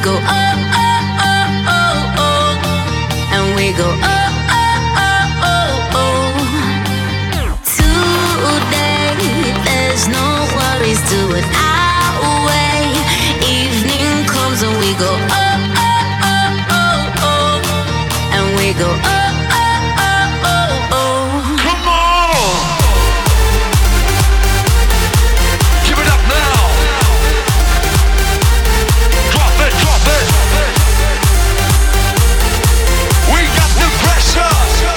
go oh oh oh oh oh, and we go oh oh oh oh oh. Today there's no worries, do it our way. Evening comes and we go oh oh oh oh oh, and we go oh oh oh oh oh. Come on! Give it up now! Drop it, drop it! We got the pressure!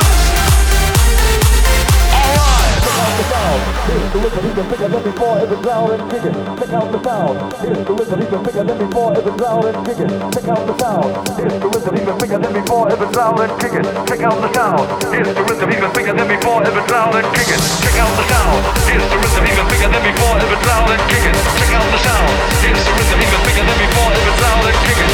Alright! Here's the rhythm, even bigger than before, if it's loud and kicking. Check out the sound. Here's the rhythm, even bigger than before, if it's loud and kicking. Check out the sound. Here's the rhythm, even bigger than before, if it's loud and kicking. Check out the sound. Here's the rhythm, even bigger than before, if it's loud and kicking. Check out the sound. Here's the rhythm, even bigger than before, if it's loud and kicking. Check out the sound. Here's the rhythm, even bigger than before, if it's loud and kicking.